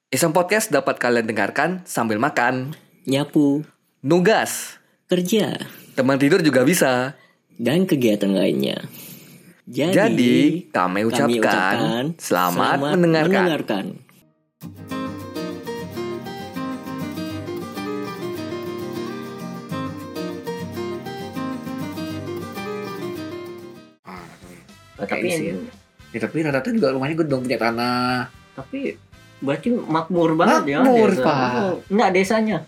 Iseng Podcast dapat kalian dengarkan sambil makan, nyapu, nugas, kerja, teman tidur juga bisa. dan kegiatan lainnya. Jadi, kami ucapkan selamat mendengarkan. Tapi tapi rata-rata juga rumahnya gedung punya tanah. tapi berarti makmur banget ya. Makmur, desa. Pak. Oh, enggak desanya.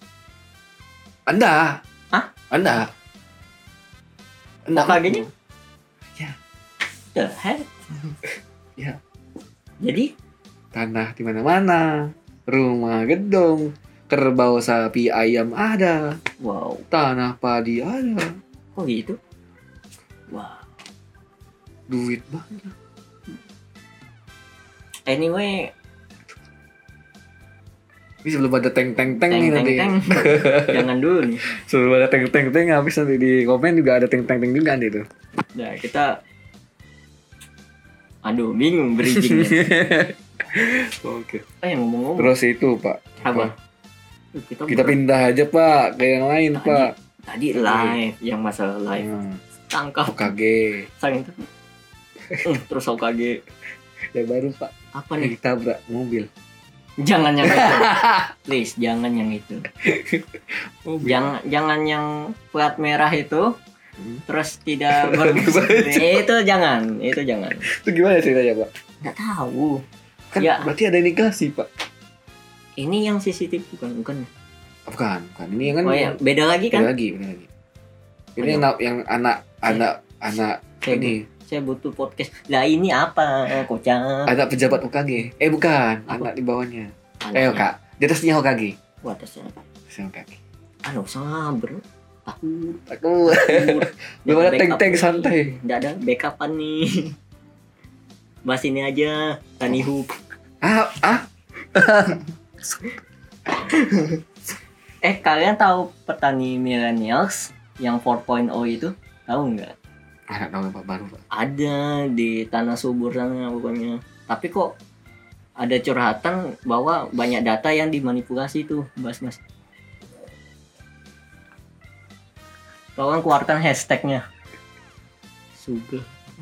Anda? Hah? Anda? OKG-nya? Ya. The heck? Ya. Jadi Tanah di mana-mana, rumah gedung, kerbau, sapi, ayam ada, wow, tanah padi ada, kok gitu? Wah. duit banyak. Anyway, Ini sebelum ada teng-teng-teng nih nanti. Jangan dulu nih. Sebelum ada teng-teng-teng, habis nanti di komen juga ada teng-teng-teng juga nanti tuh. Nah, kita bingung bridgingnya. Oke. Yang ngomong-ngomong. Terus itu Pak. Apa? Kita pindah aja Pak ke yang lain Pak. Tadi live, yang masalah live. Tangkap. OKG. Sayang itu. Terus OKG. Yang baru Pak. Apa nih? Ditabrak mobil. Jangan yang itu. Please, jangan yang itu. Jangan yang plat merah itu. Terus tidak itu jangan. Itu gimana ceritanya Pak? Nggak tahu. Kan Ya. berarti ada indikasi Pak. Ini yang CCTV bukan. Bukan. Ini yang kan. Oh ya, beda lagi kan? Beda lagi. Ini yang anak Saya ini. Saya butuh podcast. Lah ini apa? Kocak. Anak pejabat OKG. Bukan. Apa? Anak di bawahnya. Anaknya. Kak. Di atasnya OKG. Wah, atasnya. OKG. Sabar. Takut. Belum ada tank-tank santai. Nggak ada backupan nih. Bahas ini aja. Tani Hoop. Kalian tahu petani millennials yang 4.0 itu? Tahu nggak? Anak tahu Pak baru Pak. Ada di tanah subur sana pokoknya. Tapi kok ada curhatan bahwa banyak data yang dimanipulasi tuh, Mas. Tolong keluarkan hashtagnya. Sugih.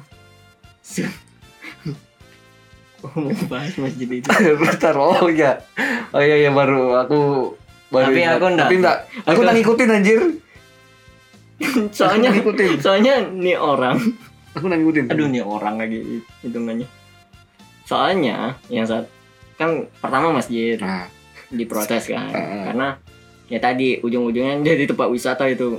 Mau bahas masjid itu. Bentar, iya baru aku Tapi aku enggak. Aku tak ngikutin anjir. Soalnya nih orang. Aku tak ngikutin. Aduh, nih orang lagi hitungannya. Soalnya yang saat kan pertama masjid diprotes kan. Karena ya tadi ujung-ujungnya jadi tempat wisata itu.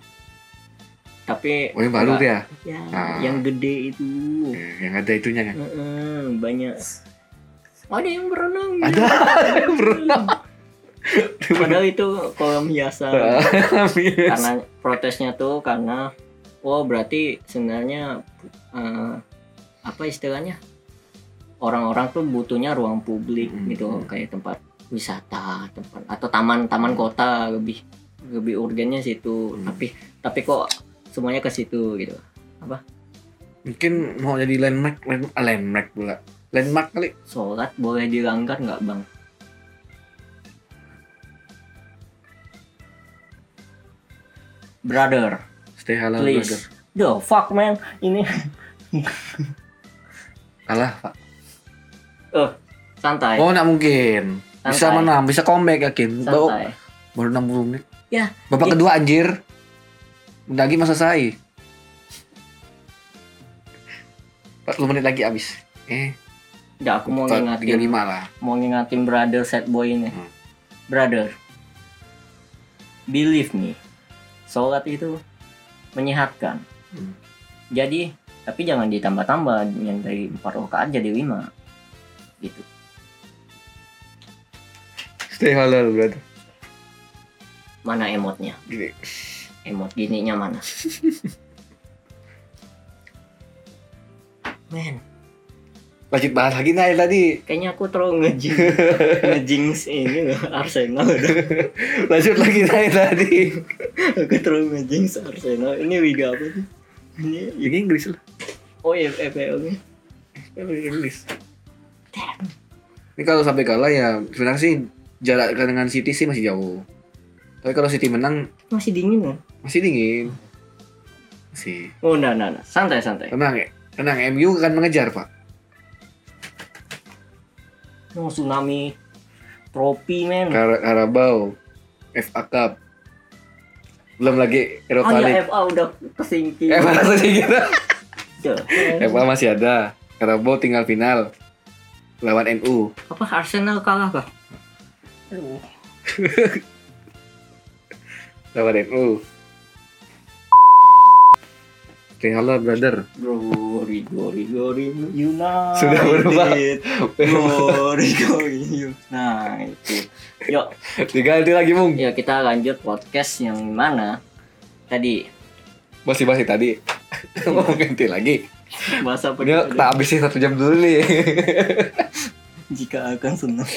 Tapi yang baru tuh ya? Yang gede itu. Yang ada itunya kan? Banyak. Ada yang berenang. Ada yang berenang. Padahal itu kolam hiasan. Karena protesnya tuh karena berarti sebenarnya apa istilahnya? Orang-orang tuh butuhnya ruang publik gitu, kayak tempat wisata, atau taman kota lebih urgennya situ. Tapi kok semuanya ke situ gitu. Apa? Mungkin mau jadi landmark pula. Landmark kali. Sholat boleh dilanggar nggak Bang? Brother, stay halal please. brother. The fuck man, ini. Kalah Pak. Santai. Nggak mungkin. Bisa Santai. menang, bisa comeback yakin. Santai. Baru 60 menit. Ya. Babak kedua anjir. Bentar lagi masa selesai. 40 menit lagi abis. Udah, aku mau ngingatin 35 lah. Mau ngingatin brother sad boy ini. Brother, believe me, sholat itu menyehatkan. Jadi, tapi jangan ditambah-tambah yang dari 4 rakaat jadi 5. Gitu. Stay halal brother. Mana emotnya? Gini. Emot gininya mana? Men, Lanjut bahas lagi nih tadi. kayaknya aku terlalu ngejinx ini loh, Arsenal. Lanjut lagi nih tadi. Aku terlalu ngejinx Arsenal. Ini liga apa sih? Liga Inggris lah. Oh iya, FPL-nya. Inggris. Ini kalau sampai kalah ya sebenarnya sih jarak dengan City sih masih jauh. Tapi kalau City menang Masih dingin kan? masih dingin. Masih. Oh, nah. Santai. Tenang, MU akan mengejar, Pak. Oh, tsunami trofi, men. Carabao, FA Cup. Belum lagi Europa League. FA udah kesingkir. FA masih gitu. Duh. FA masih ada. Carabao tinggal final lawan NU. Apa Arsenal kalah kah? Aduh. Lawan NU. Tinggal brother. Glory United. Sudah berubah. Glory United. Yuk, Diganti lagi, Bung. ya kita lanjut podcast yang mana tadi Masih tadi. Mau ganti lagi. bahasa apa Ini kita habisin 1 jam dulu nih. jika akan senang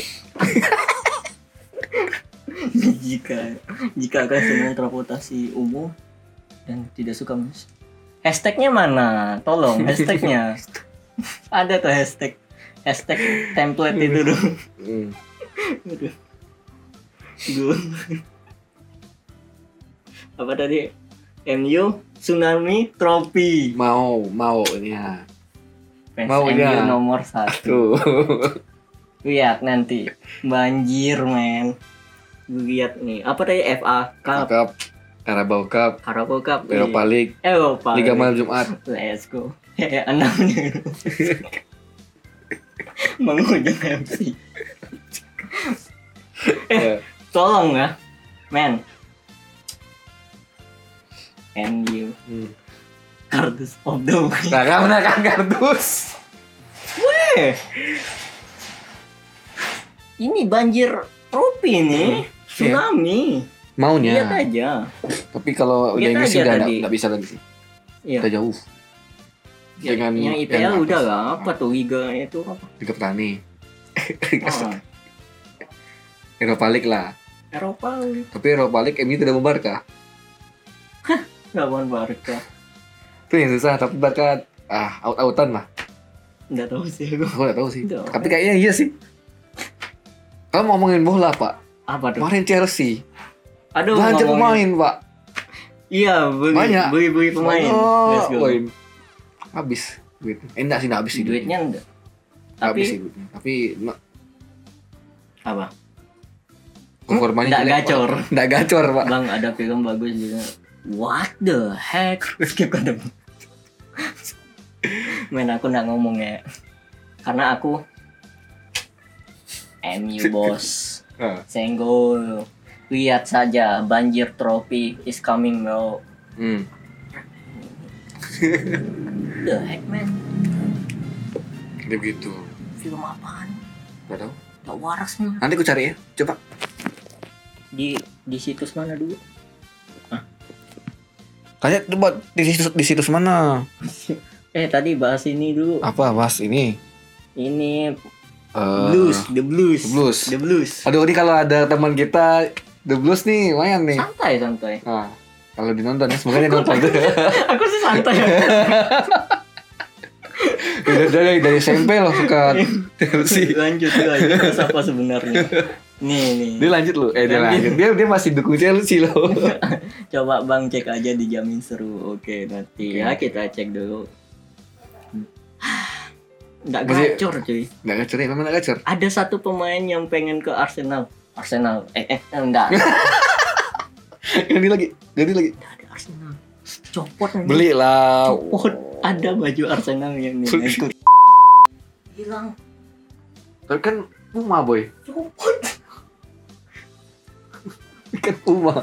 jika akan senang transportasi umum dan tidak suka hashtagnya mana, tolong hashtagnya. Ada tuh hashtag template itu dong. Aduh. Gue apa tadi, MU tsunami trofi, Mau ini ya. fans Mau MU ya. nomor 1. Tuh. Lihat nanti banjir, men. Lihat nih apa tadi, FA Cup, Carabao Cup, Carabao Cup, Europa League, Eropa Liga League. Malam Jumat. Let's go. Enamnya menghujung MC. Ya. Tolong ya, men. MU kardus of the week. Nah, kamu menekan kardus. Ini banjir trofi nih, tsunami. Maunya. Lihat aja. Tapi kalau udah Lihat ini aja sih udah tadi. nggak bisa lagi sih. Iya. Udah jauh. Dengan Yang IPL yang udah atas. lah, apa tuh liga itu apa? Liga Petani. Ah, Europa League lah. Eropa League. Tapi Europa League MU tidak mau Barca. Lawan Barca. Itu yang susah. Tapi Barca out-outan lah. Nggak tahu sih aku. Aku nggak tahu sih. Udah. Tapi kayaknya iya sih. Kalau ngomongin bola, Pak. Apa tuh? Kemarin Chelsea Aduh, belanja ngomongin- pemain, Pak. Iya, Banyak. beli pemain. Let's go. Poin. Habis duit. Enggak sih, enggak habis sih Duitnya enggak. Nggak habis Tapi sih duitnya. Tapi apa? performanya Nggak jelek, Pak. gacor. Nggak gacor, Pak. Bang, ada film bagus juga. What the heck? Skip ada. Men, aku nggak ngomong ya. Karena aku MU bos. Ah. Senggol. Lihat saja, banjir trofi is coming, bro. The heck, man? Dia begitu. Film apaan? Nggak tahu. Gak waras nih. Nanti aku cari ya. Coba. Di situs mana dulu? Tanya coba di situs mana? Tadi bahas ini dulu. Apa, Mas? Ini. Ini Eh, The Blues. Aduh, ini kalau ada teman kita The Blues nih, lumayan nih. Santai. Nah, kalau dinonton ya, semoga dia nonton. Aku sih santai. Udah dari SMP loh suka Chelsea. Lanjut guys, apa sebenarnya? Nih. Dia lanjut loh. Dia lanjut. Dia masih dukung Chelsea loh. Coba Bang cek aja, dijamin seru. Oke, nanti ya kita cek dulu. Nggak Masih- gacor cuy. Nggak gacor ya, memang nggak gacor. Ada satu pemain yang pengen ke Arsenal. Enggak. Ganti lagi. Nggak ada Arsenal. Copot nanti. Beli lah. Copot. Ada baju Arsenal yang nih. Ikut. Hilang. Tapi kan Puma boy. Copot. Kan Puma.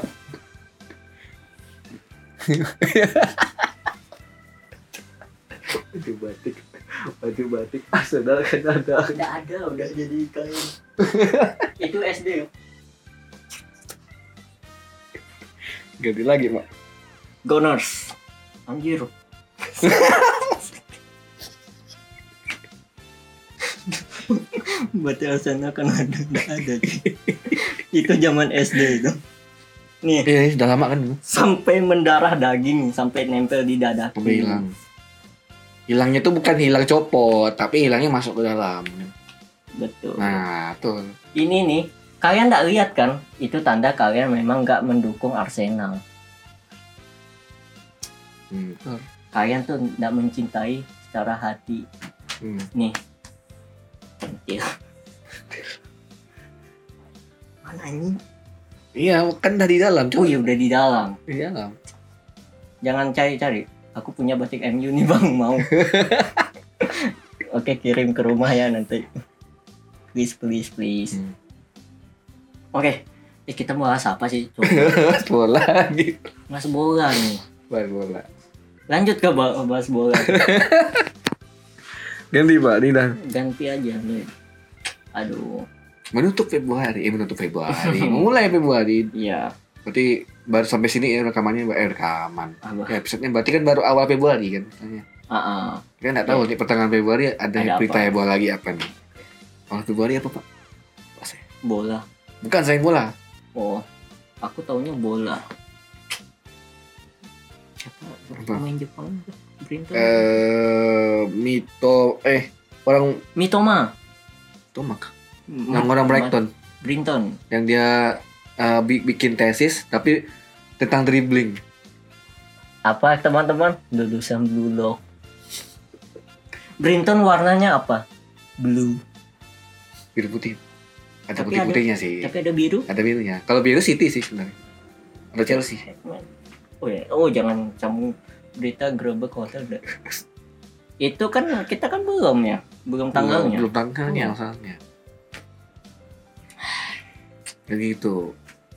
Baju batik. Arsenal kan ada. Nggak ada, udah jadi kain. Itu SD ya. Ganti lagi, Pak. Gunners. Anjir. Berarti Arsenal kan ada, nggak ada. Itu zaman SD itu. Nih, Ini sudah lama kan. sampai mendarah daging, sampai nempel di dada. Udah hilang. Hilangnya tuh bukan hilang copot, tapi hilangnya masuk ke dalam. Betul. Nah, tuh. Ini nih, kalian nggak lihat kan? Itu tanda kalian memang nggak mendukung Arsenal. Betul. Kalian tuh nggak mencintai secara hati. Nih, pentil. Mana ini? Iya, kan dari dalam. Oh iya udah di dalam. Di dalam. Jangan cari-cari. Aku punya batik MU nih bang, mau. Oke, kirim ke rumah ya nanti. Please. Oke, kita mau bahas apa sih? Bola lagi. Mas bola nih. Bahas bola. Lanjut ke bahas bola. Ganti Pak, ini dah. Ganti aja nih. Aduh. Menutup Februari. Mulai Februari. Iya. Berarti baru sampai sini ya rekamannya rekaman. Apa? Episode-nya berarti kan baru awal Februari kan misalnya. Kita nggak tahu nih pertengahan Februari ada berita apa? heboh lagi apa nih. Awal Februari apa Pak? Bola. Bukan selain bola. Oh, aku taunya bola. Siapa pemain Jepang? Brinton. Orang Mitoma. Tomak. Yang orang Brighton. Brinton. Yang dia bikin tesis tapi tentang dribbling. Apa teman-teman? Lulusan Blue Lock. Brinton warnanya apa? Blue. Biru putih. Ada Tapi putih-putihnya sih. Tapi ada biru. Ada birunya. Kalau biru City sih sebenarnya. Ada Chelsea. Oh ya, jangan sambung berita Grebek Hotel deh. Itu kan kita kan belum tanggalnya. Belum tanggalnya asalnya. Begitu.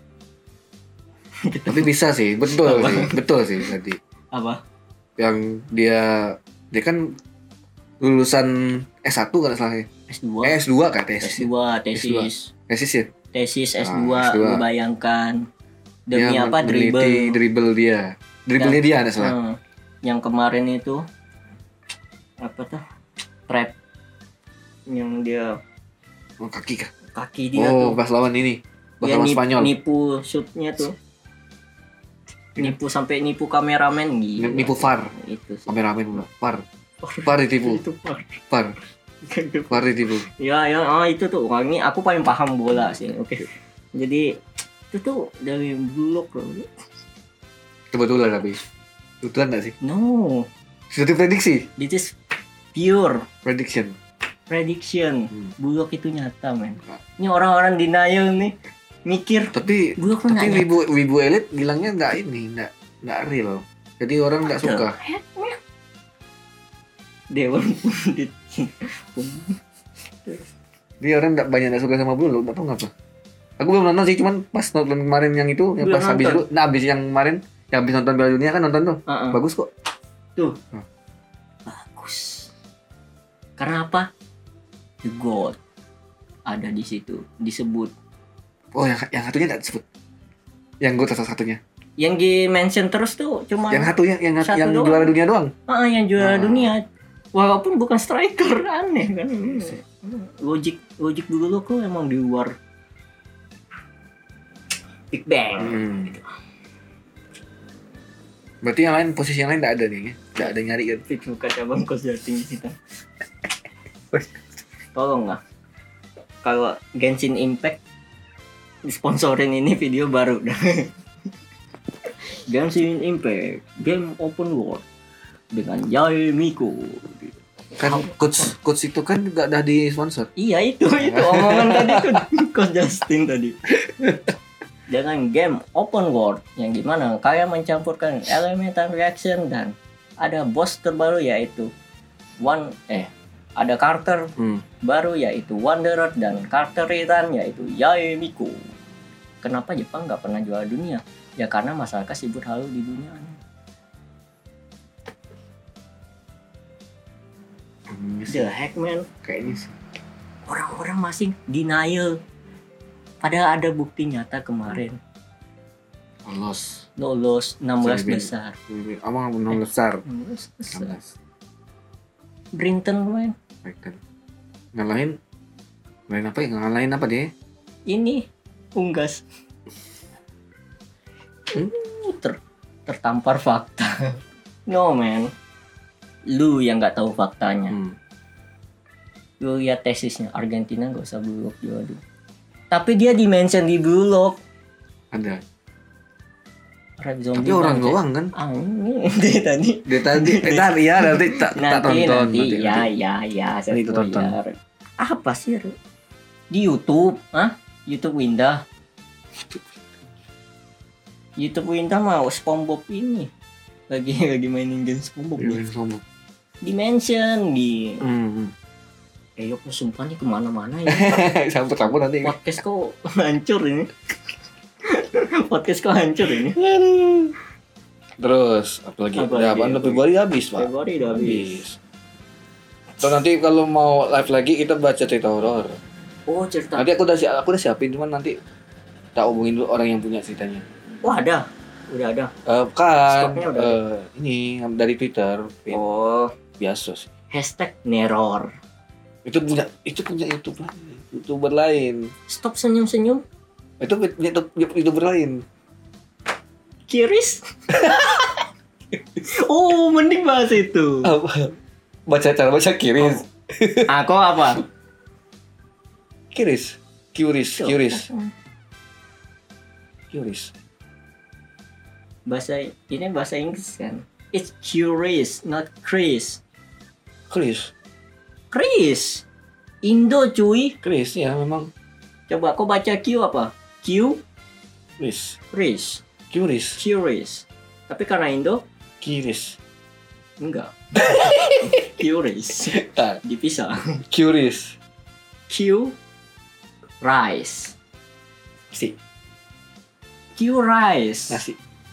Tapi bisa sih, betul sih tadi. Apa? Yang dia kan lulusan S1 kan salahnya. S2. S2 kan tesis. Tesis ya? Tesis S2, lu bayangkan demi dia apa dribble dia. Dribblenya dia ada salah. Yang kemarin itu apa tuh? Trap yang dia kaki dia tuh. Pas lawan ini. Pas lawan Spanyol. Nipu shootnya tuh. Nipu sampai nipu kameramen gitu. Nipu VAR. Itu sih. Kameramen VAR ditipu. VAR ditipu. Ya, itu tuh. Wah, ini aku paling paham bola sih. Oke. Jadi itu tuh dari blog loh. Kebetulan tapi. Kebetulan enggak sih? No. Sudah diprediksi. This is pure Prediction. Bulog itu nyata, men. Ini orang-orang denial nih. Mikir. Tapi wibu elit bilangnya enggak real. Jadi orang enggak suka. Dewan Pundit. Dia orang banyak suka sama Bulog, enggak tahu ngapa. Aku belum nonton sih, cuman pas nonton kemarin yang itu, yang pas habis itu, habis yang kemarin, yang habis nonton Piala Dunia kan nonton tuh. Bagus kok. Tuh. Bagus. Karena apa? The God ada di situ, disebut. Oh, yang satunya enggak disebut. Yang God salah satunya. Yang di-mention terus tuh cuma yang satunya yang juara dunia doang. Yang juara dunia. Walaupun bukan striker, aneh kan. Logik dulu kok emang di luar Big Bang. Gitu. Berarti yang lain, posisi yang lain enggak ada nih. Enggak ada nyari kan. Buka cabang consulting di situ. Tolong lah. Kalau Genshin Impact sponsorin ini video baru dah. Genshin Impact game open world dengan Yae Miko. Kan coach itu kan enggak ada di sponsor. Iya itu omongan tadi tuh Coach Justin tadi. Dengan game open world yang gimana kalian mencampurkan elemental reaction dan ada boss terbaru yaitu ada karakter baru yaitu Wanderer dan karakter return yaitu Yae Miko. Kenapa Jepang nggak pernah juara dunia? Ya karena masyarakat sibuk halu di dunia. The heck man, kayaknya sih. Orang-orang masih denial. Padahal ada bukti nyata kemarin. Lolos 16 besar. Abang 16 besar. 16. Brinton main. Ngalahin apa ya? Ngalahin apa dia? Ini unggas. Tertampar fakta. No man. Lu yang nggak tahu faktanya. Lu lihat tesisnya Argentina gak usah Blue Lock juara 2. Tapi dia di-mention di Blue Lock. Ada. Red Zombie. Tapi orang doang kan? Ini dia tadi. Ya nanti tak tonton. Nanti. Ya. Saya itu tonton. Apa sih? Di YouTube, YouTube Windah. YouTube Windah mau SpongeBob ini. Lagi mainin game SpongeBob. Dimension di. Yuk sumpah nih kemana-mana ya. Sambut nanti. Podcast kok hancur ini. Terus apalagi? Ya, Februari habis, Pak. Februari udah habis. Terus nanti kalau mau live lagi kita baca cerita horor. Oh, cerita. Nanti aku udah siapin, cuman nanti tak hubungin dulu orang yang punya ceritanya. Wah, ada. Udah ada. Kan ini dari Twitter. Oh, biasa sih. #neror. Itu punya YouTuber lain. Stop senyum-senyum. Itu YouTuber lain. Kiris. Oh, mending bahas itu. Apa? Cara baca Kiris. Aku apa? Kiris. Bahasa Inggris kan. It's curious, not Chris. Chris. Indo cuy. Chris ya memang. Coba kau baca Q apa? Q? Chris. Curious. Tapi karena Indo? Kiris. Enggak. Curious. Dipisah. Curious. Q. Rice. Si. Q rice. Nasi.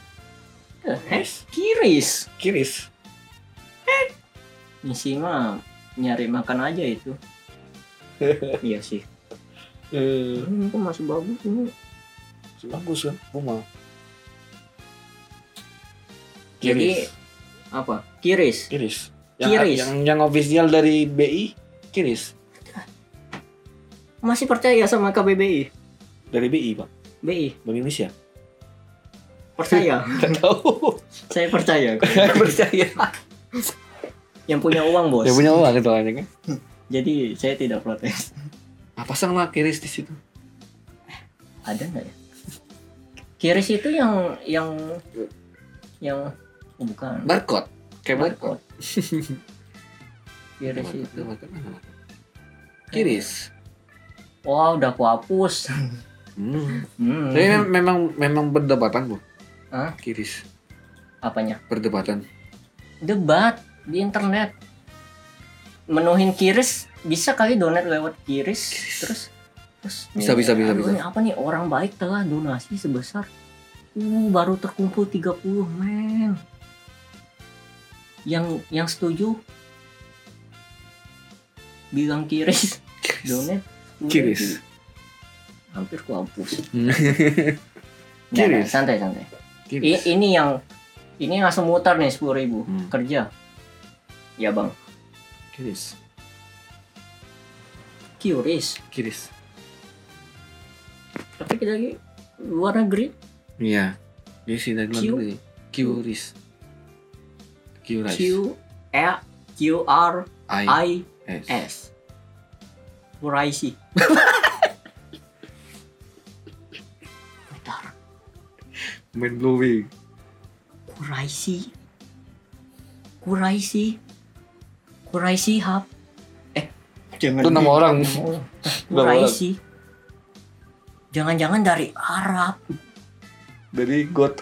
Kiris. Misi mah nyari makan aja itu. Iya sih. Ini kok masih bagus ini. Bagus kan? Mau. Jadi apa? Kiris. Yang official dari BI Kiris. Masih percaya sama KBBI? Dari BI, Pak. BI. Bank Indonesia. Percaya. Enggak tahu. Saya percaya. Yang punya uang, Bos. Yang punya uang itu kan. Jadi saya tidak protes. Pasang lah Kiris di situ. Ada nggak ya? Kiris itu yang bukan. Barcode. Kayak barcode. Kiris itu. Kiris. Wah, udah aku hapus. Tapi memang berdebatan, Bu. Kiris. Apanya? Berdebatan. Debat di internet. Menuhin Kiris bisa kali donat lewat Kiris. Terus bisa. Apa nih orang baik telah donasi sebesar baru terkumpul 30 men. Yang setuju bilang Kiris donat Kiris. Hampir ku hapus. Kiris. Santai. Ini langsung mutar nih 10.000 kerja. Ya bang. Kiris. Tapi kita lagi luar negeri. Iya. Dia sih dari luar negeri. Kiris. QRIS. Kuraisi. Bentar. Mind blowing. Kuraisi Hub. Jangan. Itu nama orang. Kuraisi. Jangan-jangan dari Arab. Dari God.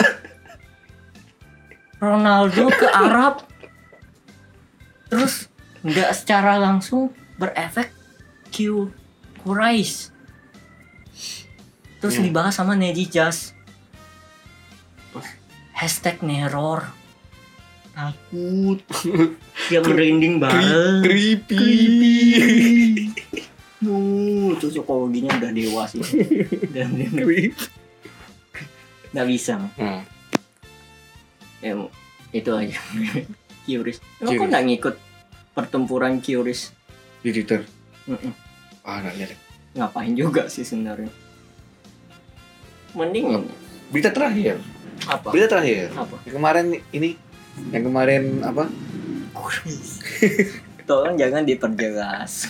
Ronaldo ke Arab. Terus nggak secara langsung berefek Quraish. Terus dibahas sama Neji Jazz. #neror. Takut. Dia merinding bareng. Creepy. Itu psikologinya udah dewasa. Dan nggak bisa. Itu aja. Curious. Lo kok nggak ngikut pertempuran Curious di Twitter? Nggak lihat. Ngapain juga sih sebenarnya? Mending berita terakhir. Apa? Yang kemarin apa? Tolong jangan diperjelas.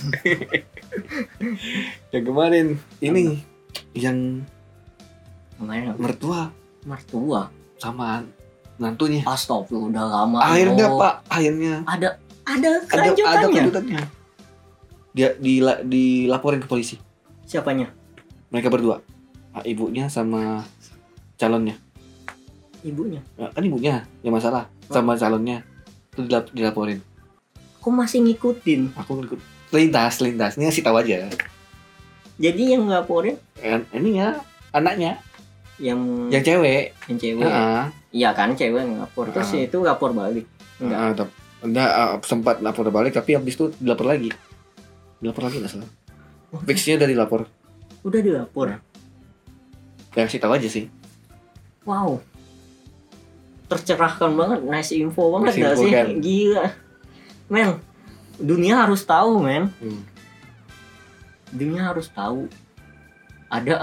Yang kemarin ini yang Kemarin mertua sama nantunya. Astagfirullah, udah lama. Akhirnya Pak, akhirnya Ada ada kelanjutannya. kelanjutannya. Dia dilaporin ke polisi. Siapanya? Mereka berdua. Ibunya sama calonnya. Ibunya. Kan ibunya yang masalah sama calonnya. Itu dilaporin. Aku masih ngikutin. Aku ikut lintas. Ini ngasih tahu aja. Jadi yang ngelaporin Ini ya anaknya yang cewek. yang cewek. Iya kan, cewek yang ngapor. Terus itu lapor balik. Enggak. Sempat lapor balik tapi habis itu dilapor lagi nggak salah. Fixnya udah dilapor. Udah dilapor. Ya kasih tahu aja sih. Wow. Tercerahkan banget, nice info banget gak sih? Kan? Gila. Men, dunia harus tahu, men. Dunia harus tahu. Ada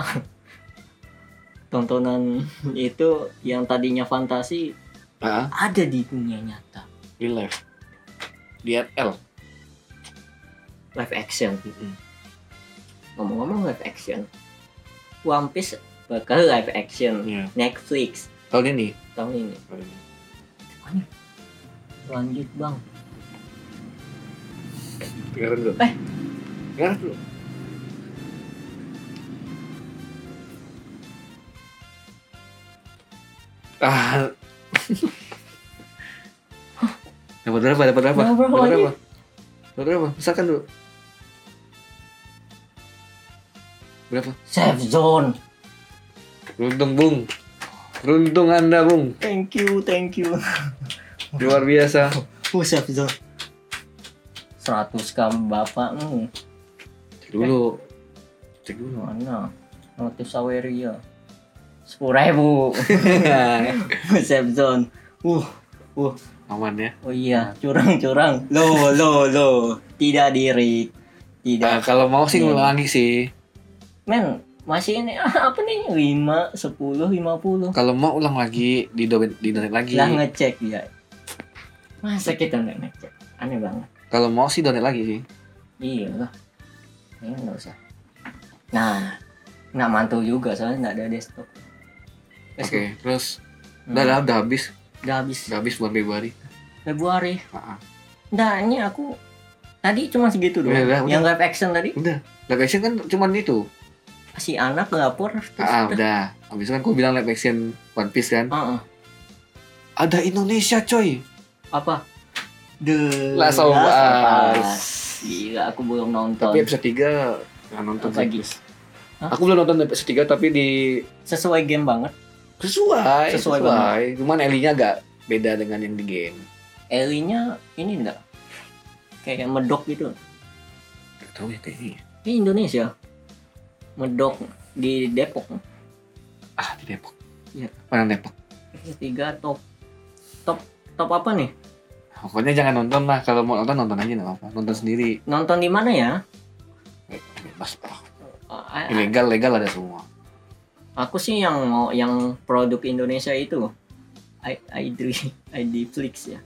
tontonan itu yang tadinya fantasi ada di dunia nyata. Di live. Di RL. Live action. Ngomong-ngomong live action, One Piece bakal live action. Netflix tahun ini. Mana? Lanjut bang. Dengarin dulu. Dengarin dulu. Dapat berapa? Misalkan dulu. Berapa? Safe zone. Beruntung Anda, Bung. Thank you. Luar biasa. Safe zone. 100 gram bapak. Cek dulu. Mana? Notif Saweria 10.000. Safe zone. Aman ya. Oh iya, curang. Lo. Tidak diri. Tidak. Kalau mau sih ngulangi sih. Men, masih ini apa nih? 5, 10, 50. Kalau mau ulang lagi, di donate lagi. Lah ngecek ya. Masa kita nggak ngecek? Aneh banget. Kalau mau sih donate lagi sih. Iya lah. Ini nggak usah. Nah, nggak mantul juga soalnya nggak ada desktop. Oke, terus udah habis. Udah habis bulan Februari. Nah, ini aku tadi cuma segitu doang. Udah. Yang live action tadi? Udah. Live action kan cuma itu. Si anak lapor. Udah. Habis itu kan aku bilang live action One Piece kan. Ada Indonesia coy. Apa? Last of Us. Gila, aku belum nonton. Tapi episode 3 nggak nonton lagi. Aku belum nonton episode 3 tapi sesuai game banget. Sesuai banget. Cuman Ellie-nya agak beda dengan yang di game. Ellie-nya ini enggak kayak medok gitu. Gak tahu ya kayaknya. Ini Indonesia. Medok di Depok. Di Depok. Iya. Mana Depok? 3 top apa nih? Pokoknya jangan nonton lah. Kalau mau nonton aja nggak apa-apa. Nonton sendiri. Nonton di mana ya? Bebas lah. Legal ada semua. Aku sih yang produk Indonesia itu iFlix ya.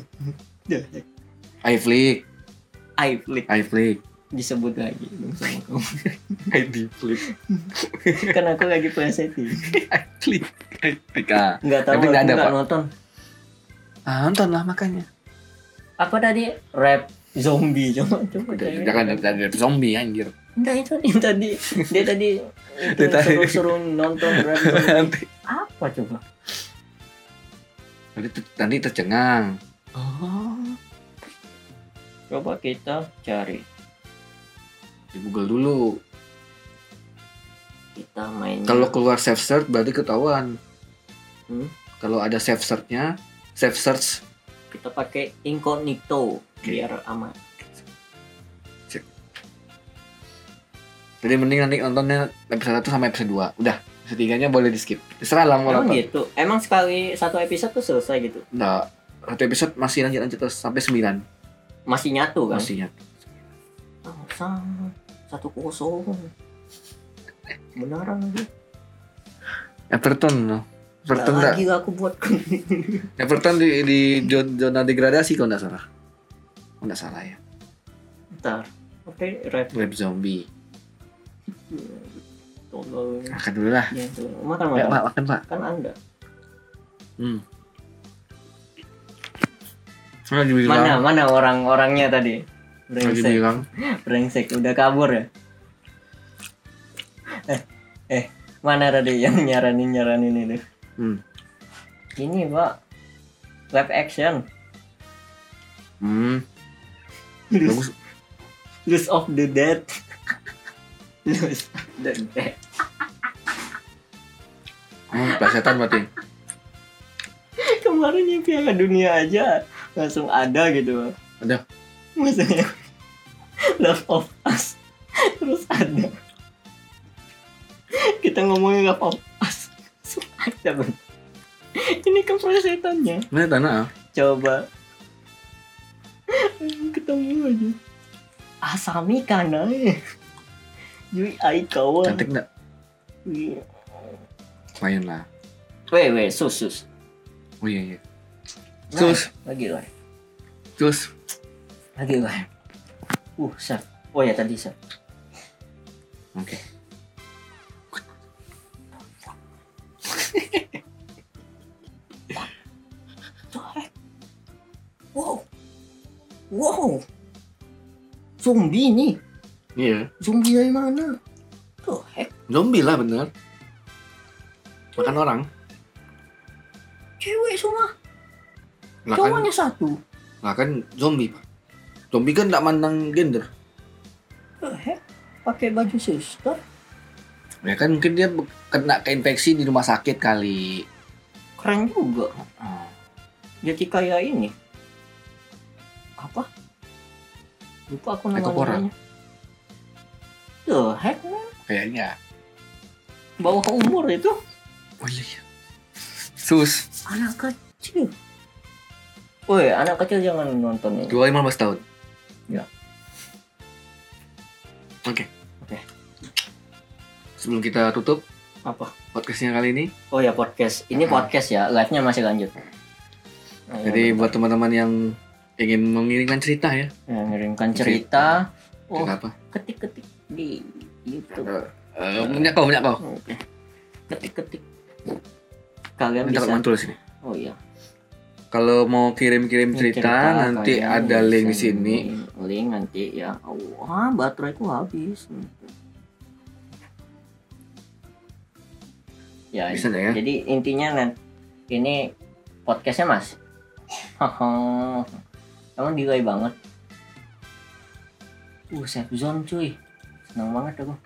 iFlix. Disebut lagi sama kamu. iFlix. Kan aku lagi PSET. iFlix. Enggak tahu, tapi enggak nonton. Nonton lah makanya. Apa tadi? Rap zombie coba. Jangan ada zombie anjir. Enggak itu dia tadi suruh nonton rap zombie. Apa coba? Nanti tercengang. Coba kita cari Di Google dulu. Kita main. Kalau keluar safe search berarti ketahuan. Kalau ada safe search kita pakai incognito biar aman. Jadi mending nanti nontonnya episode 1 sama episode 2. Udah, episode 3-nya boleh di skip. Terserah lah mau nonton. Gitu. Emang sekali satu episode tuh selesai gitu? Enggak. Satu episode masih lanjut terus sampai 9. Masih nyatu kan? Masih nyatu. 1-0. Beneran lagi. Everton enggak. Lagi aku buat. Everton di zona degradasi kalau enggak salah. Enggak salah ya. Bentar. Oke, rap. Rap zombie. Tolong. Makan dulu lah. Ya, tuh. Makan. Pak, makan Pak. Kan Anda. Mana orang-orangnya tadi? Brengsek udah kabur ya. Mana tadi yang nyaranin itu? Ini Pak, live action. Bagus. Lose of the Dead. Lose of the Dead. Plesetan berarti. Kemarin yang Piala Dunia aja langsung ada gitu. Ada. Maksudnya Love of Us terus ada. Kita ngomongin Love of Us langsung ada Bang. Ini kan plesetannya. Mana tanah? Coba ketemu aja. Asami kana Yui Aikawa. Cantik enggak? Lumayan lah. Weh, sus. Oh iya. Sus. Lagi lah. Sus. Lagi lah. Sir. Oh ya tadi Sir. Oke. Wow. Zombie nih. Iya. Zombie dari mana? Tuh, Zombie lah bener. Makan orang. Cewek semua. Lah Cowoknya satu. Nah kan zombie Pak. Zombie kan enggak mandang gender. Pakai baju suster. Ya kan mungkin dia kena keinfeksi di rumah sakit kali. Keren juga. Jadi kayak ini. Apa? Lupa aku namanya. Tuh, Kayaknya. Bawah umur itu. Oh iya. Sus. Anak kecil. Woi, anak kecil jangan nonton ini. 15 tahun. Ya. Oke. Sebelum kita tutup apa podcastnya kali ini? Oh ya podcast. Ini podcast ya, live-nya masih lanjut. Jadi buat teman-teman yang ingin mengirimkan cerita ya. Mengirimkan cerita. Apa? Ketik-ketik di YouTube. Punya kau. Oke. Ketik-ketik. Kalian bisa tulis sini. Oh iya. Kalau mau kirim-kirim cerita nanti ada link di sini. Link nanti ya. Wah, bateraiku habis. Ya, bisa ya. Jadi intinya ini podcastnya Mas. Emang delay banget. Safe zone cuy. Senang banget aku.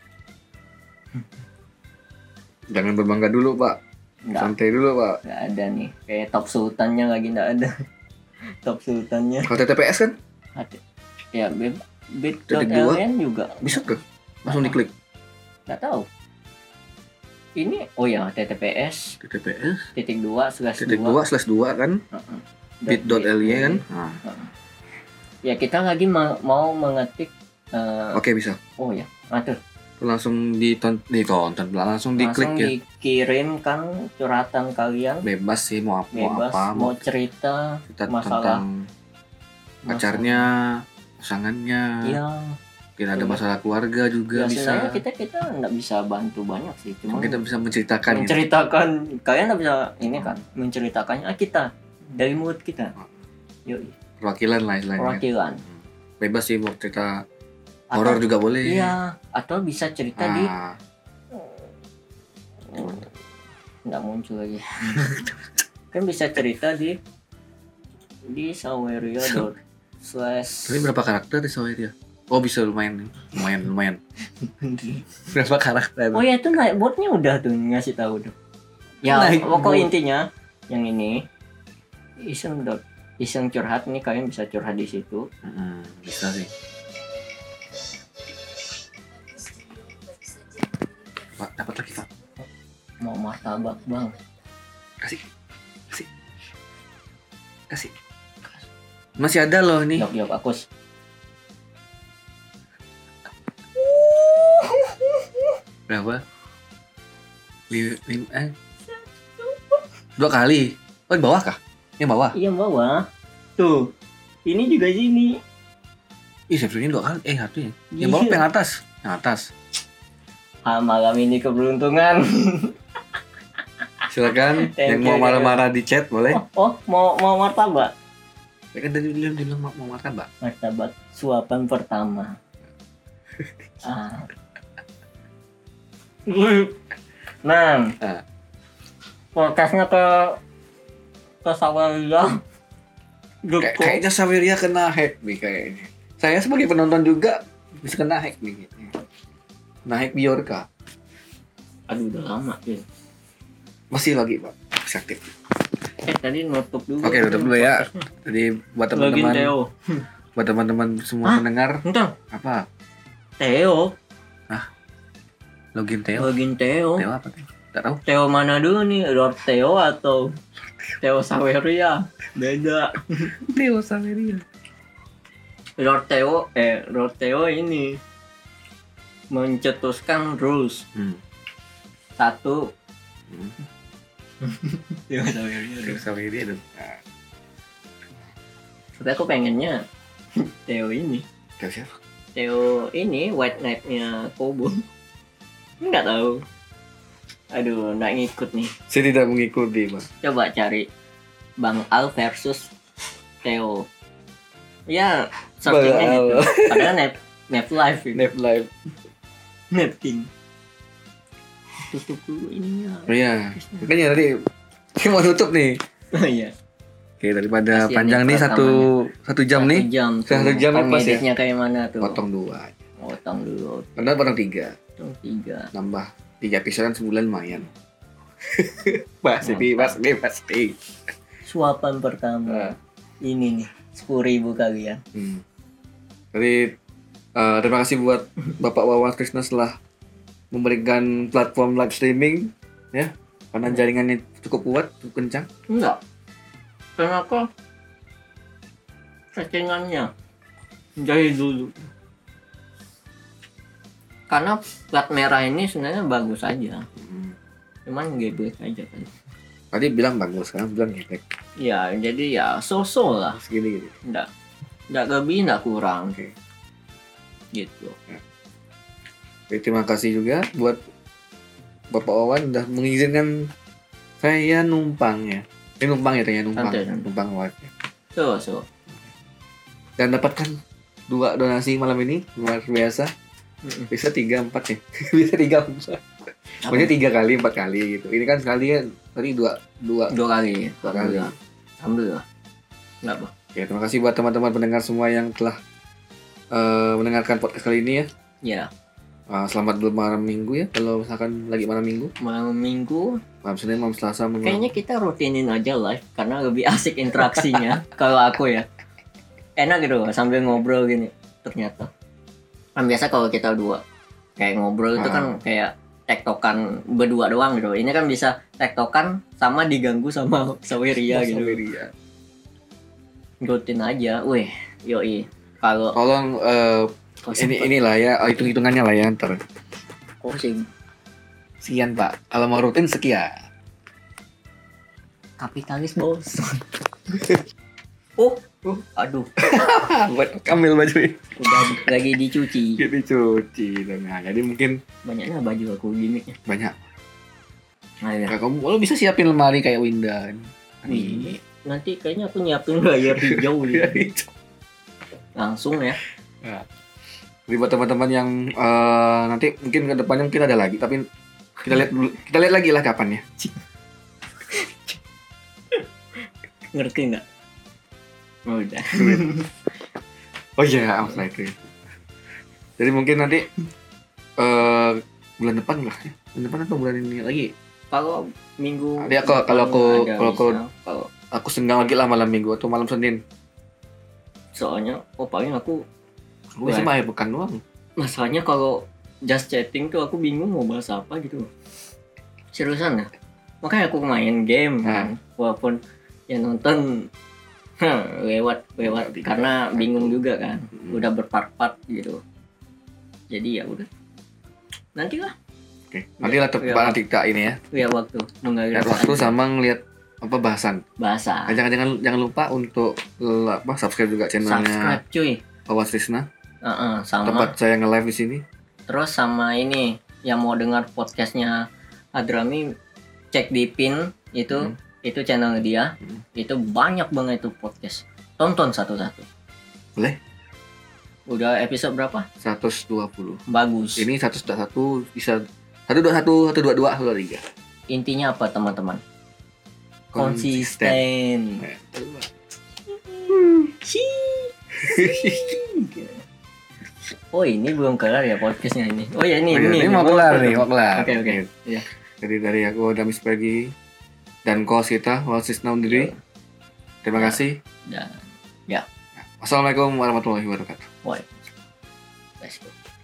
Jangan berbangga dulu Pak. Nggak. Santai dulu Pak. Nggak ada nih. Kayak top sultannya lagi nggak ada. Top sultannya. Kalau TTPS kan? Ada. Ya bit.ln juga. Bisa ke? Langsung diklik. Nggak tahu. Ini TTPS titik 2/2 kan bit.ly kan. Ya kita lagi mau mengetik Oke, bisa. Oh ya, atur. Langsung ditonton, langsung diklik ya. Dikirimkan curhatan kalian. Bebas sih mau apa. Mau cerita masalah tentang pacarnya, pasangannya. Iya. Mungkin ada masalah keluarga juga bisa. Sebenarnya kita nggak bisa bantu banyak sih, cuma kita bisa menceritakan. Kalian nggak bisa ini kan, menceritakannya kita dari mulut kita. Yoi. Perwakilan lah istilahnya. Perwakilan. Bebas sih mau cerita horor juga boleh. Iya, atau bisa cerita di nggak muncul lagi. Kan bisa cerita di Saweria. Tapi berapa karakter di Saweria? Oh bisa lumayan. Berapa karakter? Oh ya itu botnya udah tuh ngasih tahu tuh. Ya pokok intinya yang ini iseng curhat nih, kalian bisa curhat di situ. Bisa sih. Pak, dapat lagi Pak. Mau martabak Bang. Kasih. Masih ada loh nih. Yok Akus. Berapa? 2 kali. Oh, di bawah kah? Yang bawah? Iya bawah. Tuh. Ini juga sini. Ih, subscribe-nya 2 kali. Satu ya. Yang bawah apa yang atas? Yang atas. Malam ini keberuntungan. Silakan yang mau marah-marah di chat boleh. Mau martabak. Ya kan tadi dia bilang mau martabak. Martabak suapan pertama. Nah, podcastnya ke Saweria. Kayaknya Saweria kena hack nih kayaknya. Saya sebagai penonton juga bisa kena hack nih. Kena hack Biorka. Aduh, udah lama ya. Masih lagi Pak, masih aktif. Tadi nutup dulu. Oke, tutup dulu ya. Jadi buat teman-teman semua pendengar. Entah. Apa? Theo. Login Theo. Theo apa tuh? Enggak tahu. Theo mana dulu nih? Lord Theo atau Theo Saweria? Beda. Theo Saweria. Lord Theo ini mencetuskan rules. 1. Theo Saweria dong. Tapi aku pengennya Theo ini. Theo siapa? Theo ini White Knight-nya Kobo. Enggak tahu. Aduh, enggak ngikut nih. Saya tidak mengikuti, Pak. Coba cari Bang Al versus Theo. Ya, searchingnya gitu. Padahal Nap Live itu. Nap Live. Nap King. Tutup dulu ininya. Oh iya. Makanya tadi kita mau tutup nih. Oh iya. Oke, daripada panjang nih satu jam nih. 1 jam kan pas ya. Editnya kayak mana tuh? Potong 2. Potong dulu. Karena potong 3. Potong 3. Nambah 3 episode sebulan lumayan. Pasti. Suapan pertama. Ini nih 10.000 kalian. Jadi terima kasih buat Bapak Wawan Krishna setelah memberikan platform live streaming ya. Karena jaringannya cukup kuat, cukup kencang. Enggak. Kenapa? Settingannya dari dulu. Karena plat merah ini sebenarnya bagus aja. Cuman geblek aja kan. Tadi bilang bagus, sekarang bilang geblek. Ya, jadi ya so-so lah. Segini gitu. Enggak lebih, enggak kurang. Oke. Gitu. Ya. Oke, terima kasih juga buat Bapak Wawan udah mengizinkan saya numpang ya. Numpang live ya. So. Dan dapatkan 2 donasi malam ini luar biasa. Bisa 3-4 ya. Bisa 3-4. Maksudnya 3 kali 4 kali gitu. Ini kan sekali kan tadi 2 kali. Alhamdulillah. Enggak, Bang. Ya, terima kasih buat teman-teman pendengar semua yang telah mendengarkan podcast kali ini ya. Ya. Selamat malam minggu ya. Kalau misalkan lagi malam minggu. Malam minggu. Malam Senin, malam Selasa. Kayaknya kita rutinin aja live karena lebih asik interaksinya. Kalau aku ya. Enak gitu sambil ngobrol gini. Ternyata. Kan biasa kalau kita 2 kayak ngobrol itu kan kayak tektokan berdua doang gitu. Ini kan bisa tektokan sama diganggu sama Saweria gitu. Rutin aja. Wih, yoi. Kalau tolong inilah ya, hitung-hitungannya lah ya ntar. Sekian Pak. Kalau mau rutin sekian. Kapitalis bos. Aduh. Buat kamil baju ini. Udah lagi dicuci. Nah, jadi mungkin banyaknya baju aku gimmicknya. Banyak. Nah, ya. Kamu bisa siapin lemari kayak Winda. Nanti kayaknya aku nyiapin layar hijau gitu. Langsung ya. Jadi buat teman-teman yang nanti mungkin ke depannya mungkin ada lagi, tapi kita lihat lagi lah kapan ya. Ngerti nggak? Oh, udah. Oh iya, itu. Jadi mungkin nanti bulan depan lah ya. Bulan depan atau bulan ini lagi? Kalau minggu. Jadi kalau aku senggang lagi lah malam minggu atau malam Senin. Soalnya paling aku bisa akhir pekan doang. Masalahnya kalau just chatting tuh aku bingung mau bahas apa gitu. Seriusan ya? Makanya aku main game kan. Walaupun ya nonton lewat karena bingung juga kan. Udah berpart-part gitu. Jadi ya udah. Nantilah. Oke. Nantilah nanti kita ini ya. Lihat waktu. Lihat waktu sama ngelihat apa bahasan. Jangan lupa untuk subscribe juga channelnya. Subscribe cuy. Wawan Krishna. Sama. tempat saya nge-live di sini. Terus sama ini yang mau dengar podcastnya Hadrami, cek di pin itu channel dia. Itu banyak banget itu podcast. Tonton satu-satu. Boleh? Udah episode berapa? 120. Bagus. Ini 121 bisa 121, 122, 123. Intinya apa teman-teman? Konsisten. Oh ini belum kelar ya podcastnya ini. Oh ya ini mau kelar nih, mau kelar. Oke. Iya. Jadi dari aku Damis Pagi dan host kita Wasis Naundiri. Terima kasih. Dan ya. Wassalamualaikum warahmatullahi wabarakatuh. Woi. Let's go.